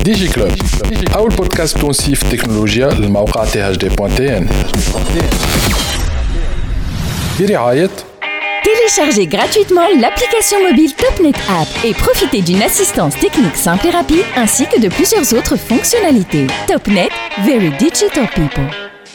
ديجي كلوب أول بودكاست تونسي في التكنولوجيا للموقع thd.tn برعاية Téléchargez gratuitement l'application mobile Topnet App et profitez d'une assistance technique simple et rapide ainsi que de plusieurs autres fonctionnalités. Topnet, very digital people.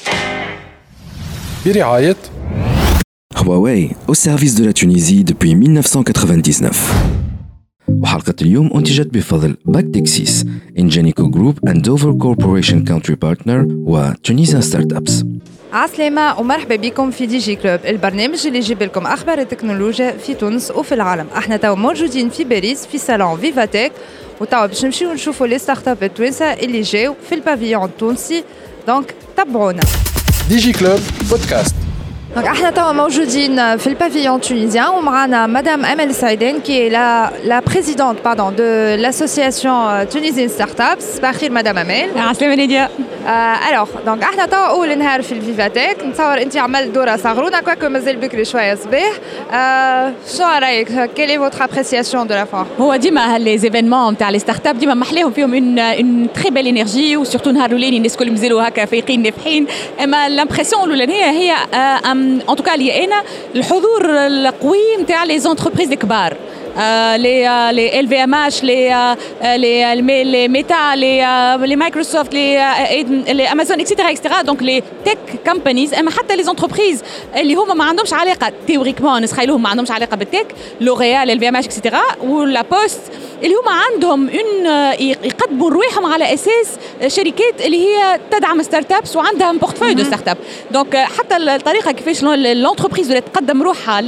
برعاية Huawei au service de la Tunisie depuis 1999. وحلقة اليوم أنتجت بفضل باكتكسيس إنجينيكو جروب and Dover Corporation Country Partner و Tunisian Startups. عسلامة ومرحبا بكم في دي جي كلوب، البرنامج اللي يجيب لكم أخبار التكنولوجيا في تونس وفي العالم. احنا توا موجودين في باريس في صالون فيفاتيك، وتوا باش نمشيو نشوفوا لي ستارت اب التوانسة اللي جاو في البافيون التونسي. دونك تابعونا. ديجي كلوب بودكاست. Donc, احنا توا موجودين في البافيون تونيزيان ومعنا مدام أمل سعيدين qui est la présidente de l'association Tunisian Startups. صباح الخير مدام أمل. عسلامة نادية. alors donc احنا توا أول نهار في الفيفاتيك، نتصور أنت عملت دورة صغرونا كواكو مازال بكري شوية صباح. شو رأيك؟ quelle est votre appréciation de la foire؟ هو ديما هالإيفينمون نتاع لي ستارت اب ديما محليهم فيهم اون تري بيل انرجي، وسورتو نهار الاولاني الناس الكل مازالوا هكا فايقين نافحين، اما لامبرسيون الاولانيه هي ان توكا لي انا الحضور القوي نتاع لي زونتربريز الكبار، les LVMH, les Meta, les Microsoft, les Amazon, etc. Donc les tech companies, mais حتى les entreprises اللي هما ما عندهمش علاقة تيوريكمون نسخيلهم ما عندهمش علاقة بالتك، لوريال، LVMH, etc. ولا بوست اللي هما عندهم يقدموا رواحهم على أساس شركات اللي هي تدعم ستارت ابس وعندها بورتفوي دو ستارت اب. دونك حتى الطريقة كيفاش l'entreprise اللي تقدم روحها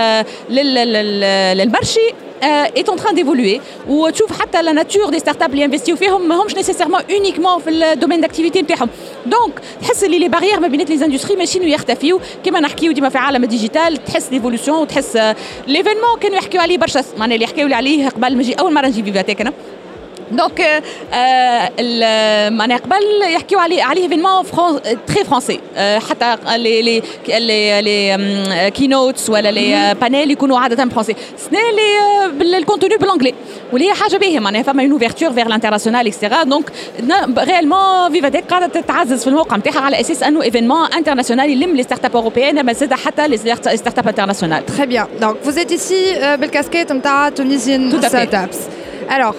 للمرشي est en train d'évoluer. وتشوف حتى la nature des startups اللي ينفستيو فيهم ما همش nécessairement uniquement في الدومين داكتيفيتي نتاعهم. دونك تحس اللي لي باريير ما بين لي اندستري ماشيين يختفيو كما نحكيو ديما في عالم الديجيتال، تحس ليفولوشن وتحس ليفينمون كانوا يحكيو عليه برشا، معناها اللي يحكيو عليه قبل ما نجي اول مره نجي فيفاتيك انا. دونك معناها قبل يحكيو عليه ايفينمون تري فرونسي، حتى لي كينوتس ولا لي بانيل يكونوا عاده فرونسي، سنا لي بالكونتوني بالانجلي، واللي هي حاجه باهيه معناها فما اون اوفرتور فيغ لانترناسيونال اكسترا. دونك ريالمون فيفاتيك قاعده تتعزز في الموقع نتاعها على اساس انه ايفينمون انترناسيونال يلم لي ستارت اب اوروبيين ما زاد حتى لي ستارت اب انترناسيونال. Très bien. Donc vous êtes ici بالكاسكيت نتاع Tunisian Startups. Alors,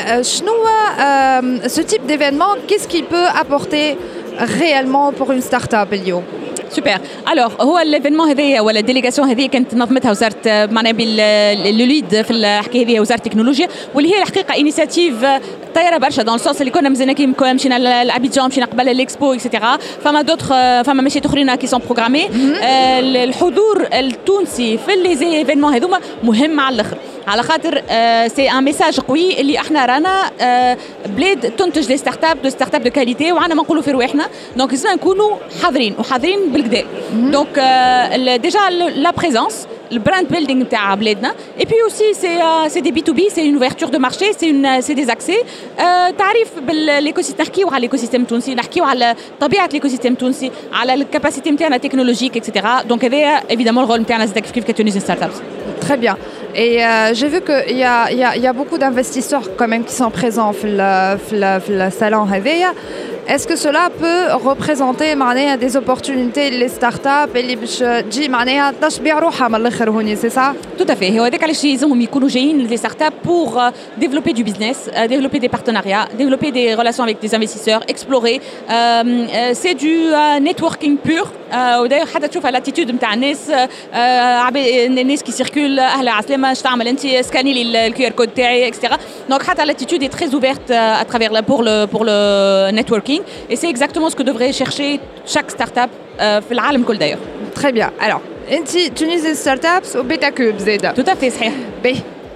ce type d'événement, qu'est-ce qu'il peut apporter réellement pour une start-up اليوم؟ سوبر. الوغ هو الايفينمون هذايا ولا الديليغاسيون هذه كانت نظمتها وزاره معناها بالليد في الحكايه هذه وزاره التكنولوجيا، واللي هي الحقيقه انيشيتيف طايره برشا دون السونس اللي كنا مزينا كي مشينا لابيجان مشينا قبل الاكسبو اكسيتيرا، فما دوتر فما ماشي اخرين كي سون بروغرامي. الحضور التونسي في لي ايفينمون هذوما مهم على الاخر، على خاطر سي ان ميساج قوي اللي احنا رانا بلاد تنتج لي ستارت اب دو كاليتي وعنا ما نقولوا في رواحنا، دونك لازم نكونوا حاضرين بالكدا. دونك ديجا لا بريزونس البراند بيلدينغ نتاع بلادنا، اي بي اوسي سي دي بي تو بي، سي اون اوفرتور دو مارشي، سي دي زاكسي تعريف بالايكوسيستم. نحكيو على الايكوسيستم التونسي، نحكيو على طبيعه الايكوسيستم التونسي، على الكاباسيتي نتاعنا تكنولوجيك اكسيتيرا. دونك هذا ايفيدامون الرول نتاعنا زاد كيف كتونيزيان ستارت ابس. Très bien. Et j'ai vu qu'il y a beaucoup d'investisseurs quand même qui sont présents في le salon هذايا. Est-ce que cela peut représenter معناها des opportunités les startups اللي باش تجي معناها تشبيع روحها من الاخر هوني سي صح؟ Tout à fait. هو هذاك علاش لازمهم يكونوا جايين les startups pour développer du business, développer des partenariats, développer des relations avec des investisseurs, explorer. C'est du networking pur. وداير حتى تشوف الاتيتود نتاع الناس، الناس كي سيركول اهلا عسلامه اش تعمل انت سكاني لي الكيو ار كود تاعي اكسترا. دونك حتى الاتيتود est très ouverte à travers pour le networking et c'est exactement ce que devrait chercher chaque start-up في العالم كل داير. Très bien. Alors انت Tunisian Startups وبيتا كوب زاده. Tout à fait صحيح. باهي.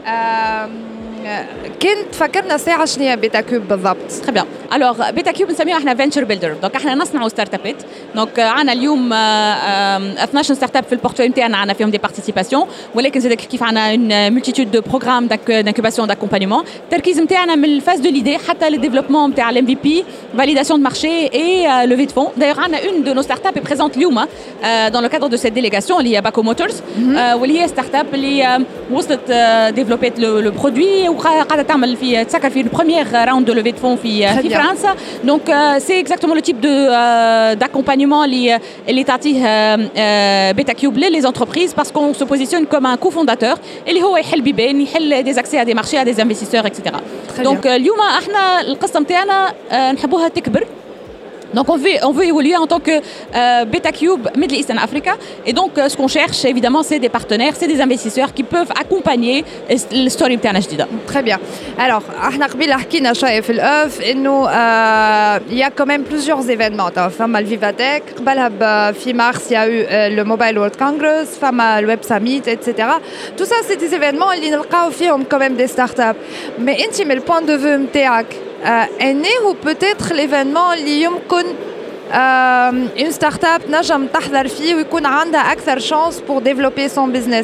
كنت فكرنا ساعة شنو هي بيتا كوب بالضبط؟ تري بيان. الوغ بيتا كوب نسميوها احنا فينتشر بيلدر، دونك احنا نصنعوا ستارت ابات. دونك عندنا اليوم 12 ستارت اب في البورتفوي نتاعنا، عندنا فيهم دي بارتيسيباسيون، ولكن زاد كيف عندنا اون مولتيتود دو بروغرام دانكوباسيون داكومبانيمون. التركيز نتاعنا من الفاز دو ليدي حتى للديفلوبمون نتاع الام في بي، فاليداسيون دو مارشي اي لوفي دو فون. دايوغ عندنا اون دو نو ستارت اب بريزونت اليوم دون لو كادر دو سيت ديليغاسيون اللي هي باكو موتورز، واللي هي ستارت اب اللي وصلت ديفلوبيت لو برودوي وقاعده تعمل في تسكر في البروميير راوند دو لوفي دو فون في فرنسا. دونك سي اكزاكتومون لو تيب d'accompagnement اللي تعطيه بيتا كيوب لي انتربريز باسكو سو بوزيسيون كوم ان كوفونداتور اللي هو يحل بيبان يحل دي زاكسي ا دي مارشي ا دي انفستيسور اكسيتيرا. دونك اليوم احنا القصه نتاعنا نحبوها تكبر. Donc on veut évoluer en tant que Beta Cube Middle East and Africa et donc ce qu'on cherche évidemment c'est des partenaires, c'est des investisseurs qui peuvent accompagner l'histoire نتاعنا جديدة. Très bien. Alors احنا قبل حكينا شوية في الأوف إنه il y a quand même plusieurs événements. فما الفيفاتك قبلها في mars il y a eu le Mobile World Congress, فما le Web Summit, etc. Tout ça c'est des événements اللي نلقاو فيهم quand même des startups. Mais انت من البوان دو فيو نتاعك انه peut-être l'événement اللي يمكن une start-up نجم تحضر فيه ويكون عندها أكثر chance pour développer son business.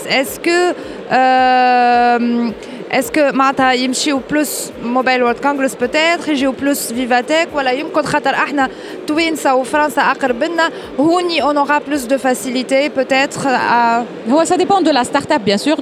Est-ce que معناتها يمشيو بلوس موبايل وورلد كونغرس peut-être يجيو بلوس فيفاتيك ولا يمكن خاطر احنا توينسا وفرنسا أقرب لنا هوني on aura plus de facilité peut-être هو ça dépend de la start-up bien sûr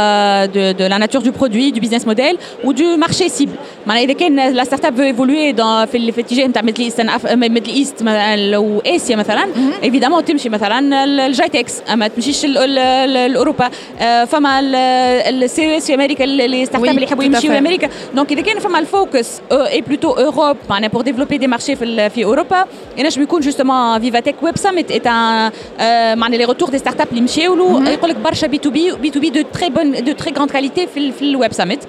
de la nature du produit du business model ou du marché cible. معناها إذا كان la start-up veut évoluer dans في الاتجاه نتاع ميدل إيست أو آسيا مثلا évidemment تمشي مثلا الجايتكس ما تمشيش الأوروبا. فما السي اس في أمريكا les startups اللي يحبوا يمشيوا لأمريكا. دونك إذا كان فما الفوكس اي بلوتو أوروب معناها pour développer des marchés في أوروبا ينجم يكون justement Vivatech Web Summit est un معناها les retours des startups اللي مشاو له يقول لك برشا B2B de très grande qualité في الويب ساميت.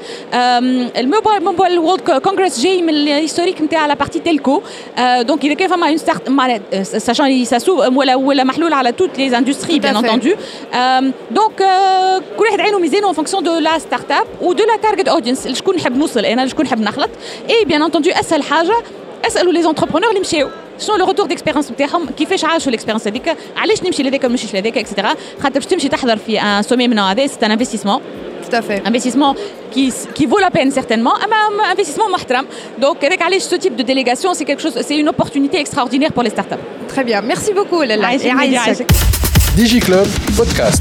الموبايل وورلد كونغرس جاي من الهيستوريك نتاع لا بارتي تيلكو. دونك إذا كان فما اون ستارت ساشان ساسو ولا محلول على توت لي اندستري بيان انتوندو. دونك كل واحد عينه ميزانه en fonction de la startup ou de la target audience شكون نحب نوصل انا شكون نحب نخلط. اي بيان انتوندو اسهل حاجه اسالوا لي زونتربرونور اللي مشاو شنو لو روتور ديكسبيريونس نتاعهم كيفاش عاشوا الاكسبيريونس هذيك علاش نمشي لهذاك ولا نمشيش لهذاك اكسيتيرا. خاطر باش تمشي تحضر في ان سومي من هذا سي ان انفستيسمون tout à fait investissement qui vaut la peine certainement un investissement محترم. donc avec علاش ce type de délégation c'est quelque chose c'est une opportunité extraordinaire pour les startups. Très bien, merci beaucoup Lella. DigiClub Podcast.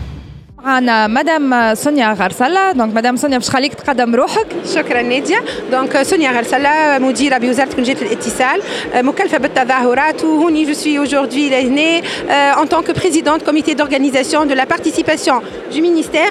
معنا مدام سونيا غرسلة. دونك مدام سونيا باش خليك تقدم روحك. شكرا نادية. دونك سونيا غرسلة مديرة بوزارة تكنولوجيا الاتصال مكلفة بالتظاهرات وهوني جو سوي aujourd'hui هنا en tant que présidente comité d'organisation de la participation du ministère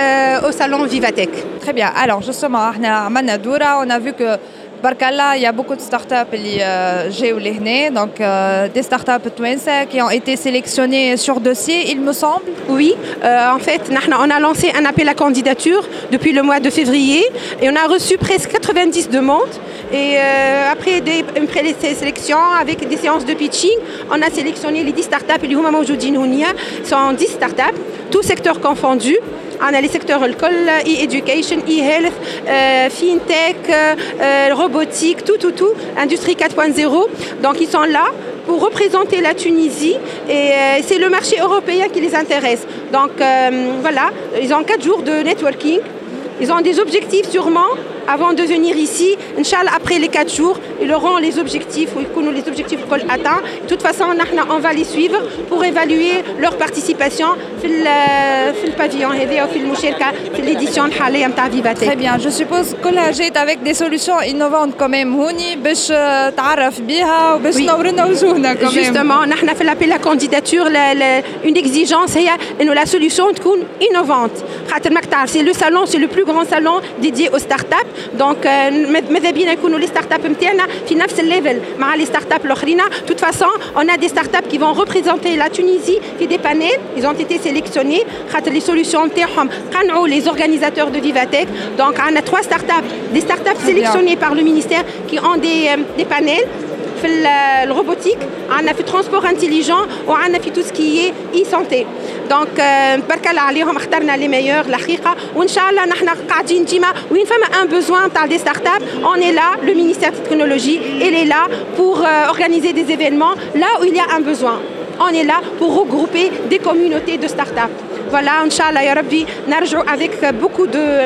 au salon Vivatech. Très bien. Alors justement احنا عملنا دورة on a vu que Barkalla, il y a beaucoup de startups qui ont été donc des startups touenses qui ont été sélectionnées sur dossier, il me semble. Oui, en fait, on a lancé un appel à candidature depuis le mois de février et on a reçu presque 90 demandes. Et après une présélection avec des séances de pitching, on a sélectionné les 10 startups. Les Houma Mawjoudin Hounia sont 10 startups, tous secteurs confondus. On a les secteurs e-education, e-health, fintech, robotique, tout, industrie 4.0. Donc ils sont là pour représenter la Tunisie et c'est le marché européen qui les intéresse. Donc voilà, ils ont 4 jours de networking. Ils ont des objectifs sûrement avant de venir ici. Inch'Allah, après les 4 jours, ils auront les objectifs ou les objectifs qu'on atteint. De toute façon, on va les suivre pour évaluer leur participation dans le pavillon et dans l'édition de Vivatech. Très bien, je suppose que là, j'ai avec des solutions innovantes quand même. Houni, باش تعرف بيها وباش نورنا وجوهنا quand même. Justement, on a fait l'appel à candidature. Une exigence, c'est que la solution soit innovante. C'est le salon, c'est le plus grand salon dédié aux startups. Donc, ماذا بينا يكونوا les startups نتاعنا في نفس الليفل مع les startups الآخرين. De toute façon, on a des startups qui vont représenter la Tunisie في des panels. Ils ont été sélectionnés. Les solutions نتاعهم قنعوا les organisateurs de Vivatech. Donc, on a 3 startups, des startups sélectionnées par le ministère qui ont des panels. في الروبوتيك عندنا في ترانسبور انتيليجون وعندنا في تو سكي اي سانتي. دونك تبارك الله عليهم اخترنا لي ميور الحقيقه وان شاء الله نحن قاعدين ديما وين فما ان بوزوان تاع دي ستارت اب اون اي لا لو مينيستير دو تكنولوجي il est là pour organiser des événements là où il y a un besoin. On est là pour regrouper des communautés de start-up. Voilà, inchallah ya rabbi نرجعوا avec beaucoup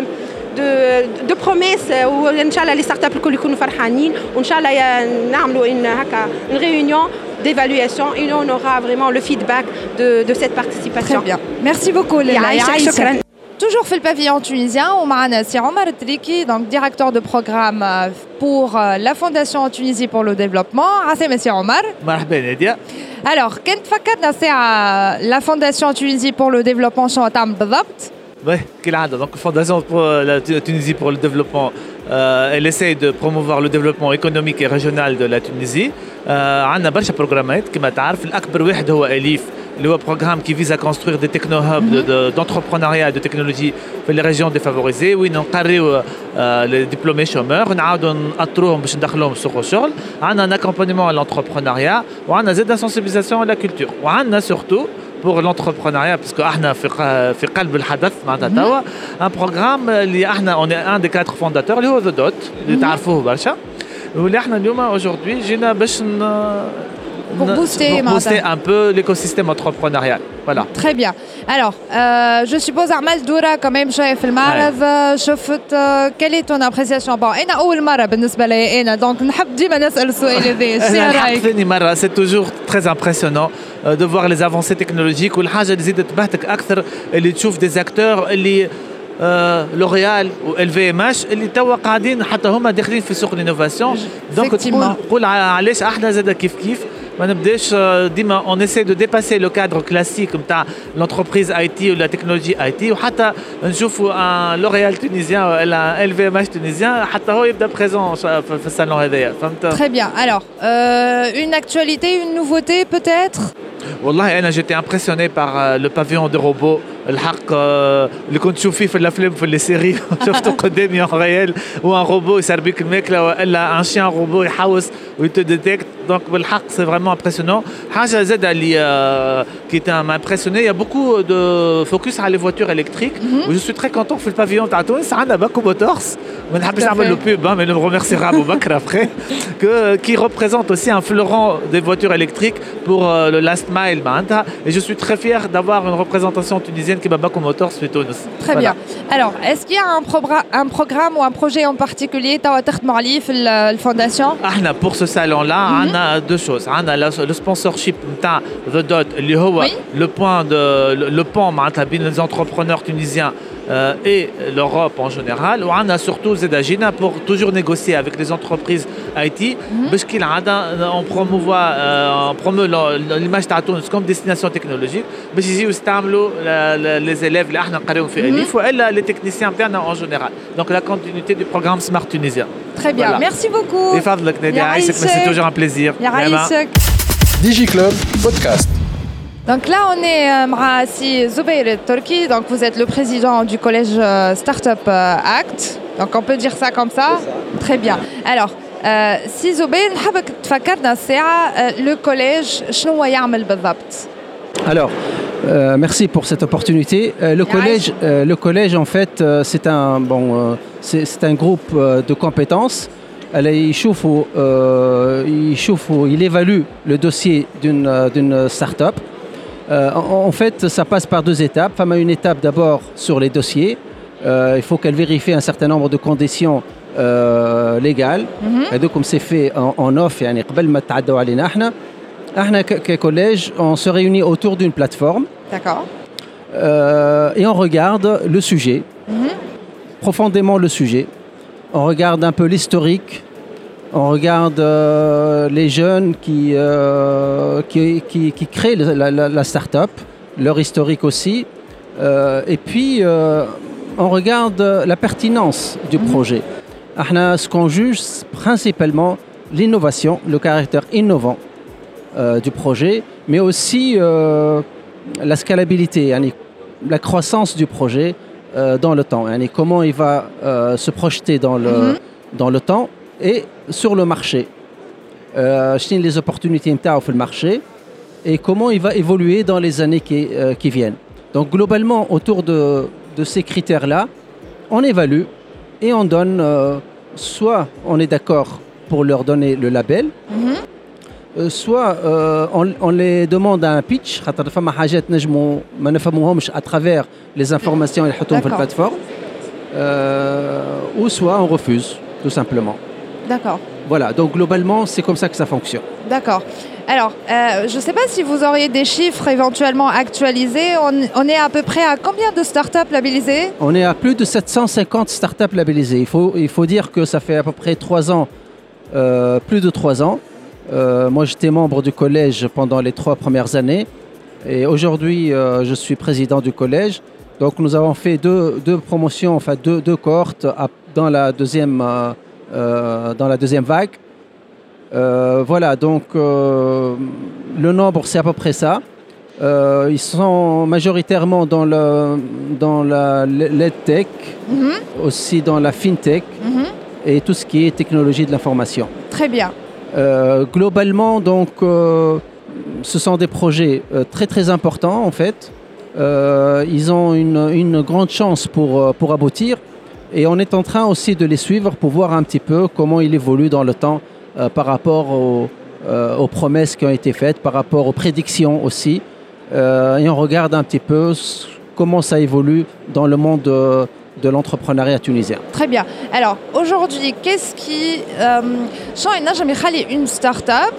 de promesses où inchallah les startups الكل يكونوا فرحانين وان شاء الله نعملوا une réunion d'évaluation et on aura vraiment le feedback de cette participation. Très bien. Merci beaucoup Léla. شكرا. toujours fait le pavillon tunisien, on a c'est Omar Triki, donc directeur de programme pour la Fondation en Tunisie pour le développement. Merci Monsieur Omar. مرحبا نادية. Alors, كنت فكرنا ساعة la Fondation en Tunisie pour le développement شنو تعمل بالضبط؟ Oui, كالعادة. Donc Fondation pour la Tunisie pour le développement, elle essaie de promouvoir le développement économique et régional de la Tunisie. عندنا برشا بروغرامات كما تعرف. الأكبر واحد هو أليف اللي هو programme qui vise à construire des techno-hubs d'entrepreneuriat et de technologie في les régions défavorisées وين نقريو les diplômés chômeurs ونعاودوا نأطروهم باش ندخلوهم سوق الشغل. عندنا un accompagnement à l'entrepreneuriat وعندنا زاد sensibilisation à la culture وعندنا surtout pour l'entrepreneuriat parce que احنا في قلب الحدث معناتها توا un programme اللي احنا on est un des 4 fondateurs اللي هو The Dot اللي تعرفوه برشا واللي احنا اليوم aujourd'hui جينا باش pour booster un peu l'écosystème entrepreneurial. Voilà. Très bien. Alors, je suppose Armel Doura quand même chef le معرض شفت quelle est ton appréciation? Bon, أنا أول مرة بالنسبة لي أنا donc نحب ديما نسأل السؤال هذا. ثاني مرة c'est toujours très impressionnant de voir les avancées technologiques والحاجة اللي زيدت تبهتك أكثر اللي تشوف des acteurs اللي لوريال و LVMH اللي توا قاعدين حتى هما داخلين في سوق الانوفاسيون دونك تقول علاش احنا زاد كيف ما نبداش ديما on essaie de dépasser le cadre classique نتاع l'entreprise IT ou la technologie IT وحتى نشوفوا un L'Oréal tunisien ولا LVMH tunisien حتى هو يبدا بريزون في الصالون هذايا فهمت. Très bien. Alors une actualité, une nouveauté peut-être? والله انا j'étais impressionné par le pavillon de robots الحق اللي كنت تشوف فيه في الافلام في لي سيري شفته قدامي en réel وان روبو يسربيك الماكله ولا ان شيان روبو يحوس ويت ديتكت دونك بالحق سي فريمون امبرسيونون. حاجه زاده اللي كي م'a impressionné il y a beaucoup de focus على les voitures électriques و je suis très content في البافيون تاع تونس عندنا باكو موتورز ما نحبش نعمل له بوب mais le remerciera Abou Bakr après qui représente aussi un fleuron des voitures électriques pour le last mile معناتها et je suis très fier d'avoir une représentation tunisienne qui bat Baku Motors في تونس. Très bien. Alors, est-ce qu'il y a un programme ou un projet en particulier توا تخدموا عليه في الفونداسيون؟ احنا pour ce salon là عندنا deux choses. عندنا le sponsorship نتاع The Dot اللي هو le pont معناتها بين les entrepreneurs tunisiens et l'Europe en général. On a surtout Zedagina pour toujours négocier avec les entreprises IT. Parce qu'il on promeut l'image de Tunis comme destination technologique. Mais ici aussi les élèves là et les techniciens internes en général. Donc la continuité du programme Smart Tunisien. Très bien, voilà. Merci beaucoup. C'est toujours un plaisir. DigiClub Podcast. Donc là, on est avec Zubair Torki. Donc vous êtes le président du collège Startup Act. Donc on peut dire ça comme ça. Très bien. Alors, si Zubair, نحبك تفكرنا الساعة le collège شنو يعمل بالضبط. Alors, merci pour cette opportunité. Le collège, en fait, c'est un groupe de compétences. Il évalue le dossier d'une start-up. En fait, ça passe par deux étapes. Il y a une étape d'abord sur les dossiers. Il faut qu'elle vérifie un certain nombre de conditions légales. Et donc, comme c'est fait en off, يعني قبل ما تعدوا علينا احنا كcollège, on se réunit autour d'une plateforme. D'accord. Et on regarde le sujet, profondément le sujet. On regarde un peu l'historique. On regarde les jeunes qui créent la start-up, leur historique aussi. Et puis, on regarde la pertinence du projet. Ce qu'on juge, principalement l'innovation, le caractère innovant du projet, mais aussi la scalabilité, la croissance du projet dans le temps. Comment il va se projeter dans le temps et sur le marché. Les opportunités sur le marché et comment il va évoluer dans les années qui viennent. Donc globalement, autour de ces critères-là, on évalue et on donne, soit on est d'accord pour leur donner le label, soit on les demande à un pitch, à travers les informations qu'ils mettent sur la plateforme, ou soit on refuse, tout simplement. D'accord. Voilà, donc globalement, c'est comme ça que ça fonctionne. D'accord. Alors, je ne sais pas si vous auriez des chiffres éventuellement actualisés. On est à peu près à combien de startups labellisées? On est à plus de 750 startups labellisées. Il faut dire que ça fait à peu près 3 ans, plus de 3 ans. Moi, j'étais membre du collège pendant les 3 premières années. Et aujourd'hui, je suis président du collège. Donc, nous avons fait deux promotions, enfin deux cohortes dans la deuxième vague. Voilà, donc le nombre, c'est à peu près ça. Ils sont majoritairement dans la l'EdTech, aussi dans la FinTech et tout ce qui est technologie de l'information. Très bien. Globalement, donc, ce sont des projets très très importants en fait. Ils ont une grande chance pour aboutir et on est en train aussi de les suivre pour voir un petit peu comment ils évoluent dans le temps par rapport aux promesses qui ont été faites, par rapport aux prédictions aussi. Et on regarde un petit peu comment ça évolue dans le monde de l'entrepreneuriat tunisien. Très bien. Alors aujourd'hui, qu'est-ce qui une start-up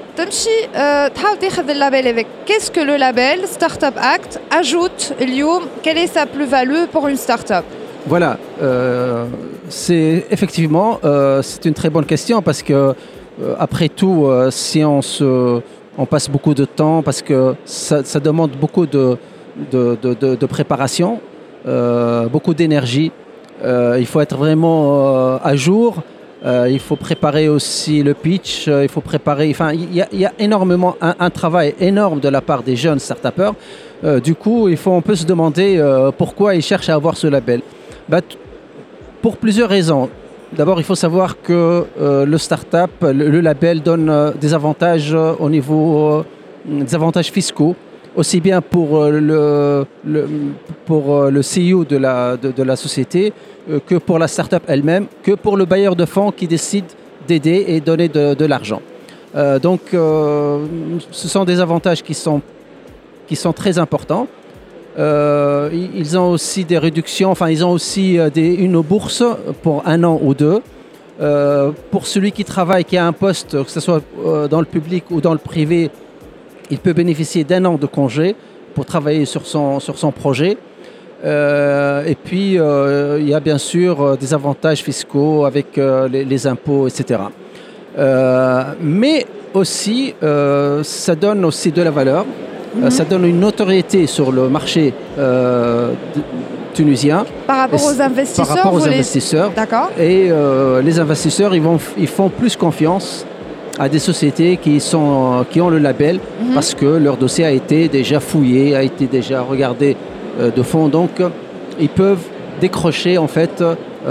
qu'est-ce que le label Startup Act ajoute quelle est sa plus-value pour une start-up? Voilà, c'est effectivement c'est une très bonne question parce que après tout, si on passe beaucoup de temps, parce que ça demande beaucoup de préparation, beaucoup d'énergie. Il faut être vraiment à jour. Il faut préparer aussi le pitch. Il faut préparer. Enfin, il y a énormément un travail énorme de la part des jeunes start-upers. Du coup, on peut se demander pourquoi ils cherchent à avoir ce label. Pour plusieurs raisons. D'abord, il faut savoir que le start-up, le label donne des avantages au niveau des avantages fiscaux, aussi bien pour le CEO de la société que pour la start-up elle-même, que pour le bailleur de fonds qui décide d'aider et donner de l'argent. Donc, ce sont des avantages qui sont très importants. Ils ont aussi des réductions, enfin ils ont aussi une bourse pour 1 an ou 2. Pour celui qui travaille, qui a un poste, que ce soit dans le public ou dans le privé, il peut bénéficier d'1 an de congé pour travailler sur son projet. Et puis il y a bien sûr des avantages fiscaux avec les impôts, etc. Mais aussi, ça donne aussi de la valeur. Ça donne une notoriété sur le marché tunisien. Par rapport aux investisseurs. Par rapport aux investisseurs. D'accord. Et les investisseurs, ils font plus confiance à des sociétés qui ont le label parce que leur dossier a été déjà fouillé, a été déjà regardé de fond. Donc, ils peuvent décrocher en fait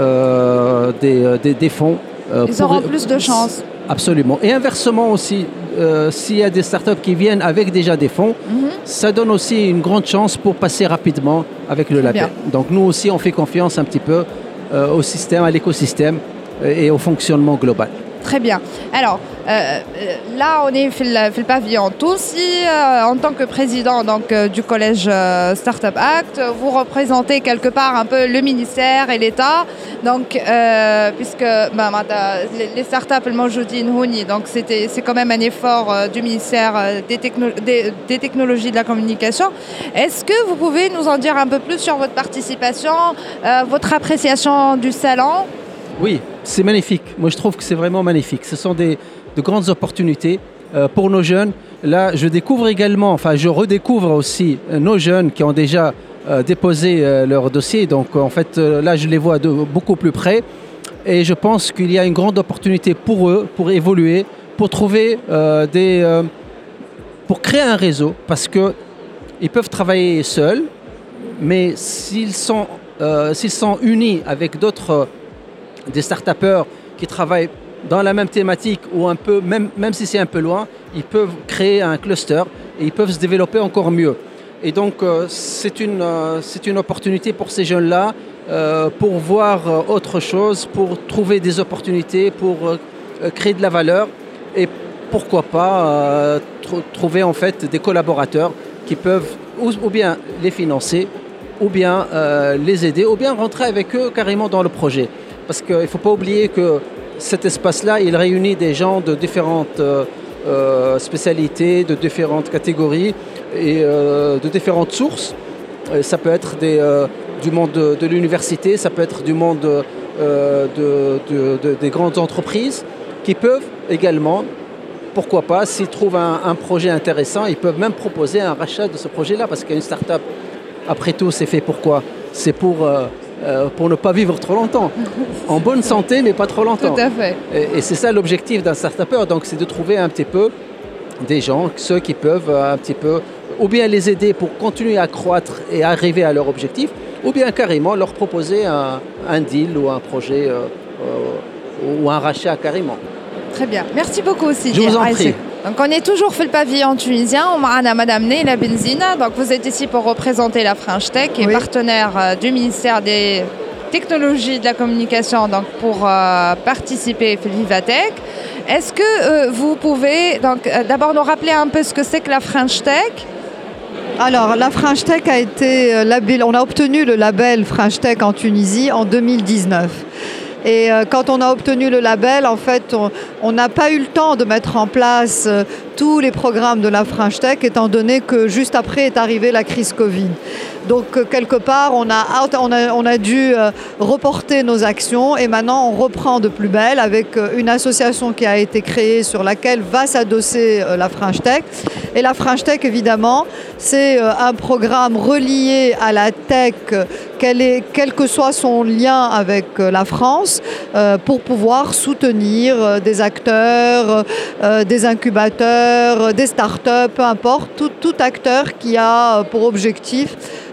des fonds. Ils auront plus de chance. Absolument. Et inversement aussi, s'il y a des startups qui viennent avec déjà des fonds, ça donne aussi une grande chance pour passer rapidement avec le label. Donc nous aussi, on fait confiance un petit peu au système, à l'écosystème et au fonctionnement global. Très bien. Alors, là, on est le pavillon Tounsi. En tant que président du collège Startup Act, vous représentez quelque part un peu le ministère et l'État. Donc, puisque les startups, le Mojoudine Houni, donc c'est quand même un effort du ministère des technologies de la communication. Est-ce que vous pouvez nous en dire un peu plus sur votre participation, votre appréciation du salon? Oui, c'est magnifique. Moi, je trouve que c'est vraiment magnifique. Ce sont de grandes opportunités pour nos jeunes. Là, je redécouvre aussi nos jeunes qui ont déjà déposé leur dossier. Donc, en fait, là, je les vois de beaucoup plus près. Et je pense qu'il y a une grande opportunité pour eux, pour évoluer, pour trouver pour créer un réseau. Parce qu'ils peuvent travailler seuls, mais s'ils sont unis avec des start-upers qui travaillent dans la même thématique ou un peu, même si c'est un peu loin, ils peuvent créer un cluster et ils peuvent se développer encore mieux. Et donc, c'est une opportunité pour ces jeunes-là pour voir autre chose, pour trouver des opportunités, pour créer de la valeur et pourquoi pas trouver en fait des collaborateurs qui peuvent ou bien les financer, ou bien les aider, ou bien rentrer avec eux carrément dans le projet. Parce qu'il ne faut pas oublier que cet espace-là, il réunit des gens de différentes spécialités, de différentes catégories et de différentes sources. Ça peut être du monde de l'université, ça peut être du monde des grandes entreprises qui peuvent également, pourquoi pas, s'ils trouvent un projet intéressant, ils peuvent même proposer un rachat de ce projet-là, parce qu'une start-up, après tout, c'est fait pour quoi? C'est pour ne pas vivre trop longtemps. En bonne santé, mais pas trop longtemps. Tout à fait. Et c'est ça l'objectif d'un start-upper, donc c'est de trouver un petit peu des gens, ceux qui peuvent un petit peu, ou bien les aider pour continuer à croître et arriver à leur objectif, ou bien carrément leur proposer un deal ou un projet ou un rachat carrément. Très bien. Merci beaucoup aussi. Je vous en prie. Donc on est toujours fait le pavillon tunisien. On m'a Madame Neila Benzina. Donc vous êtes ici pour représenter la French Tech, qui est partenaire du ministère des Technologies de la Communication, donc pour participer à Vivatech. Est-ce que vous pouvez d'abord nous rappeler un peu ce que c'est que la French Tech? Alors, la French Tech a été on a obtenu le label French Tech en Tunisie en 2019. Et quand on a obtenu le label, en fait, on n'a pas eu le temps de mettre en place tous les programmes de la French Tech, étant donné que juste après est arrivée la crise Covid. Donc, quelque part, on a dû reporter nos actions et maintenant, on reprend de plus belle avec une association qui a été créée sur laquelle va s'adosser la French Tech. Et la French Tech, évidemment, c'est un programme relié à la tech, quel que soit son lien avec la France, pour pouvoir soutenir des acteurs, des incubateurs, des startups, peu importe, tout acteur qui a pour objectif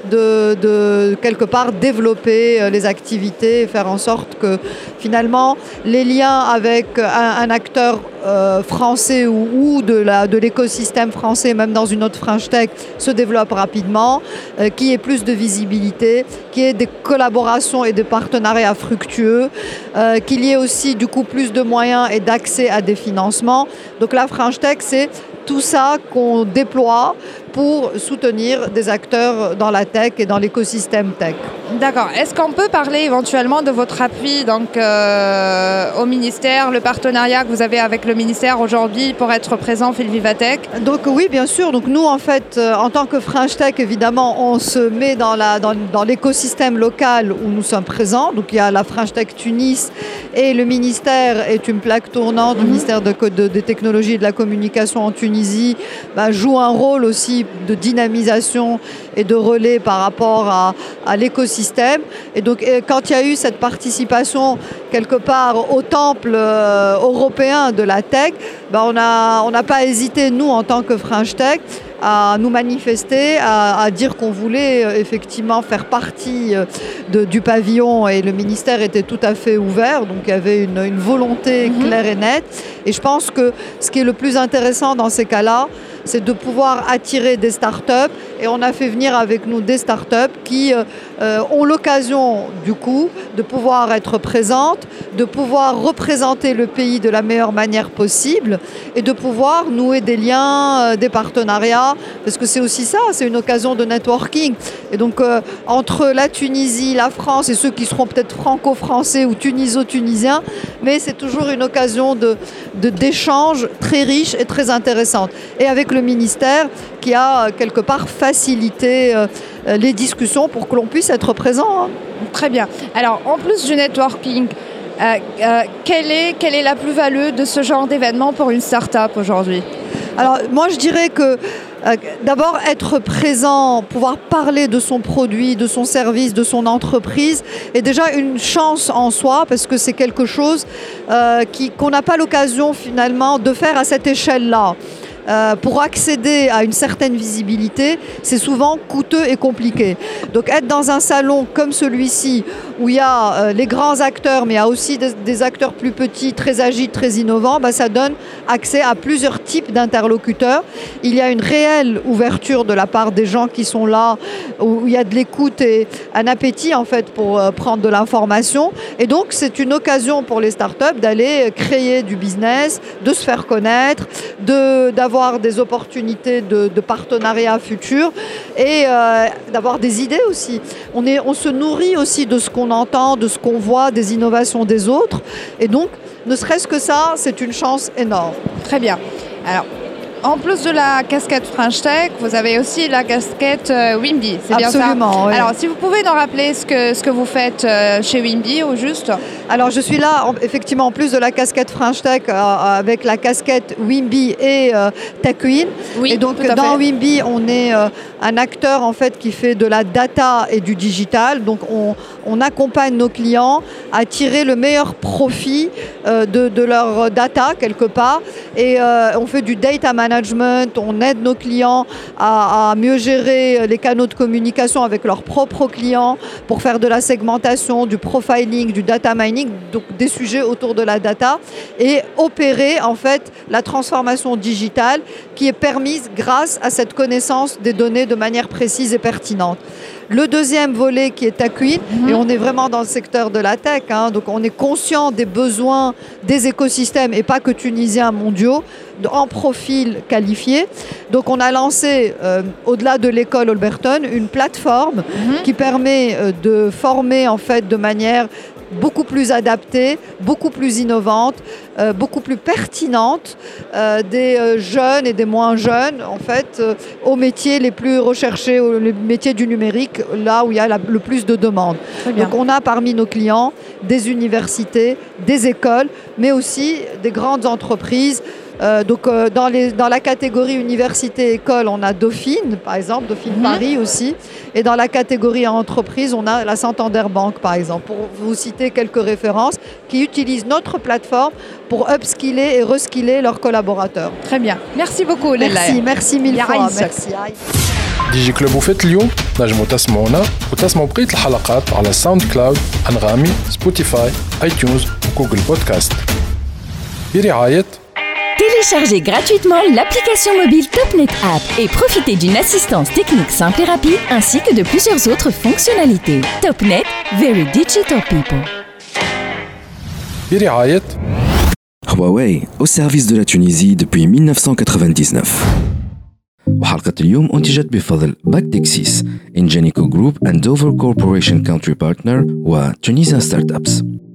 de quelque part développer les activités et faire en sorte que finalement les liens avec un acteur français ou de l'écosystème français, même dans une autre French Tech, se développent rapidement, qu'il y ait plus de visibilité, qu'il y ait des collaborations et des partenariats fructueux, qu'il y ait aussi du coup plus de moyens et d'accès à des financements. Donc la French Tech, c'est tout ça qu'on déploie pour soutenir des acteurs dans la tech et dans l'écosystème tech. D'accord. Est-ce qu'on peut parler éventuellement de votre appui au ministère, le partenariat que vous avez avec le ministère aujourd'hui pour être présent au Vivatech? Donc oui, bien sûr. Donc nous, en fait, en tant que French Tech, évidemment, on se met dans l'écosystème local où nous sommes présents. Donc il y a la French Tech Tunis et le ministère est une plaque tournante. Le ministère des Technologies et de la Communication en Tunisie joue un rôle aussi de dynamisation et de relais par rapport à l'écosystème. Et donc, quand il y a eu cette participation quelque part au temple européen de la tech, on n'a pas hésité, nous, en tant que French Tech, à nous manifester, à dire qu'on voulait effectivement faire partie du pavillon, et le ministère était tout à fait ouvert, donc il y avait une volonté claire et nette. Et je pense que ce qui est le plus intéressant dans ces cas-là, c'est de pouvoir attirer des startups, et on a fait venir avec nous des startups qui ont l'occasion du coup de pouvoir être présentes, de pouvoir représenter le pays de la meilleure manière possible et de pouvoir nouer des liens, des partenariats, parce que c'est aussi ça, c'est une occasion de networking. Et donc entre la Tunisie, la France et ceux qui seront peut-être franco-français ou tuniso-tunisiens, mais c'est toujours une occasion d'échange très riche et très intéressante. Et avec le ministère qui a quelque part facilité les discussions pour que l'on puisse être présent. Très bien. Alors, en plus du networking, quelle est la plus-value de ce genre d'événement pour une start-up aujourd'hui? Alors, moi, je dirais que d'abord, être présent, pouvoir parler de son produit, de son service, de son entreprise, est déjà une chance en soi, parce que c'est quelque chose qu'on n'a pas l'occasion finalement de faire à cette échelle-là. Pour accéder à une certaine visibilité, c'est souvent coûteux et compliqué. Donc être dans un salon comme celui-ci, où il y a les grands acteurs, mais il y a aussi des acteurs plus petits, très agiles, très innovants, ça donne accès à plusieurs types d'interlocuteurs. Il y a une réelle ouverture de la part des gens qui sont là, où il y a de l'écoute et un appétit en fait pour prendre de l'information. Et donc c'est une occasion pour les startups d'aller créer du business, de se faire connaître, d'avoir des opportunités de partenariat futur et d'avoir des idées aussi. On se nourrit aussi de ce qu'on entend, de ce qu'on voit, des innovations des autres. Et donc, ne serait-ce que ça, c'est une chance énorme. Très bien. Alors, en plus de la casquette French Tech, vous avez aussi la casquette Wimby, c'est bien ça? Absolument, oui. Alors, si vous pouvez nous rappeler ce que vous faites chez Wimby, au juste? Alors, je suis là, effectivement, en plus de la casquette French Tech, avec la casquette Wimby et TechWin. Oui, et donc, tout à dans fait. Wimby, on est un acteur, en fait, qui fait de la data et du digital. Donc, on accompagne nos clients à tirer le meilleur profit de leur data, quelque part. Et on fait du data management, on aide nos clients à mieux gérer les canaux de communication avec leurs propres clients pour faire de la segmentation, du profiling, du data mining, donc des sujets autour de la data et opérer en fait la transformation digitale qui est permise grâce à cette connaissance des données de manière précise et pertinente. Le deuxième volet qui est TechWin, et on est vraiment dans le secteur de la tech, hein, donc on est conscient des besoins des écosystèmes et pas que tunisiens, mondiaux, en profil qualifié. Donc on a lancé, au-delà de l'école Holberton, une plateforme qui permet de former en fait de manière beaucoup plus adaptée, beaucoup plus innovante, beaucoup plus pertinente des jeunes et des moins jeunes en fait aux métiers les plus recherchés, les métiers du numérique, là où il y a le plus de demandes. Donc on a parmi nos clients des universités, des écoles, mais aussi des grandes entreprises. Dans la catégorie université-école, on a Dauphine, par exemple, Dauphine Paris aussi. Et dans la catégorie entreprise, on a la Santander Bank, par exemple, pour vous citer quelques références, qui utilisent notre plateforme pour upskiller et reskiller leurs collaborateurs. Très bien. Merci beaucoup, Leila. Merci mille fois. Merci. ديجي كلوب وفات اليوم نجموا تسمعونا وتسمعوا بقية الحلقات على ساوند كلاود، أنغامي، سبوتيفاي، آيتونز وجوجل بودكاست. برعاية Téléchargez gratuitement l'application mobile TopNet App et profitez d'une assistance technique simple et rapide ainsi que de plusieurs autres fonctionnalités. TopNet, very digital people. برعاية Huawei, au service de la Tunisie depuis 1999. وحلقة اليوم أنتجت بفضل باكتكسيس Ingenico Group and Dover Corporation Country Partner و Tunisian Startups.